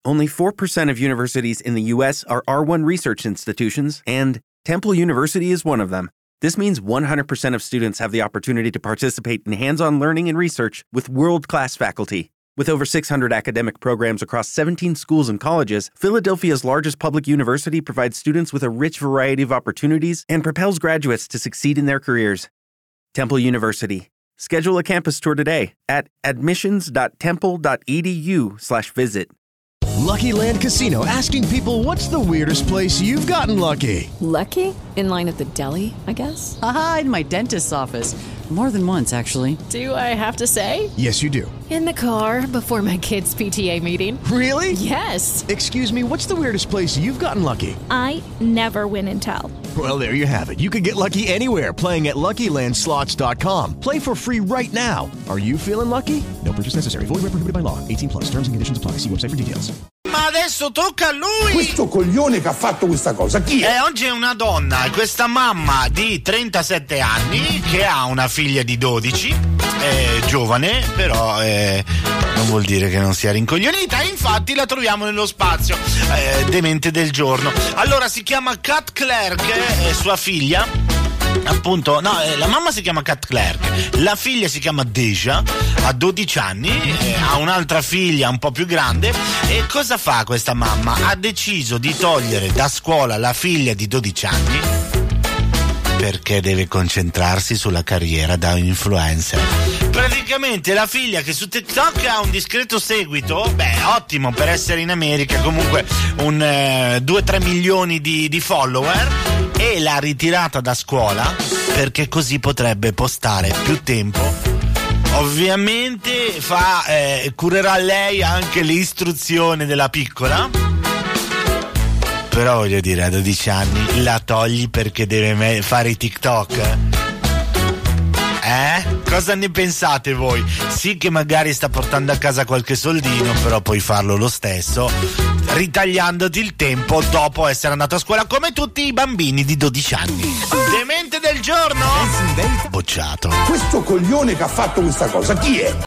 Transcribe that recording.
Only 4% of universities in the U.S. are R1 research institutions, and Temple University is one of them. This means 100% of students have the opportunity to participate in hands-on learning and research with world-class faculty. With over 600 academic programs across 17 schools and colleges, Philadelphia's largest public university provides students with a rich variety of opportunities and propels graduates to succeed in their careers. Temple University. Schedule a campus tour today at admissions.temple.edu/visit. Lucky Land Casino, asking people, what's the weirdest place you've gotten lucky? Lucky? In line at the deli, I guess? Aha, in my dentist's office. More than once, actually. Do I have to say? Yes, you do. In the car before my kids' PTA meeting. Really? Yes. Excuse me, what's the weirdest place you've gotten lucky? I never win and tell. Well, there you have it. You can get lucky anywhere, playing at LuckyLandSlots.com. Play for free right now. Are you feeling lucky? No purchase necessary. Void where prohibited by law. 18+. Terms and conditions apply. See website for details. Ma adesso tocca a lui! Questo coglione che ha fatto questa cosa, chi è? Oggi è una donna, questa mamma di 37 anni che ha una figlia di 12, è giovane, però non vuol dire che non sia rincoglionita, infatti la troviamo nello spazio demente del giorno. Allora si chiama Kat Clark, sua figlia. Appunto, no, la mamma si chiama Kat Clark, la figlia si chiama Deja, ha 12 anni, ha un'altra figlia un po' più grande. E cosa fa questa mamma? Ha deciso di togliere da scuola la figlia di 12 anni perché deve concentrarsi sulla carriera da influencer. Praticamente la figlia, che su TikTok ha un discreto seguito, ottimo per essere in America, comunque un 2-3 milioni di follower, e l'ha ritirata da scuola perché così potrebbe postare più tempo. Ovviamente curerà lei anche l'istruzione della piccola, però voglio dire, a 12 anni la togli perché deve fare i TikTok? Cosa ne pensate voi? Sì che magari sta portando a casa qualche soldino, però puoi farlo lo stesso ritagliandoti il tempo dopo essere andato a scuola, come tutti i bambini di 12 anni. Demente del giorno? Bocciato. Questo coglione che ha fatto questa cosa, chi è?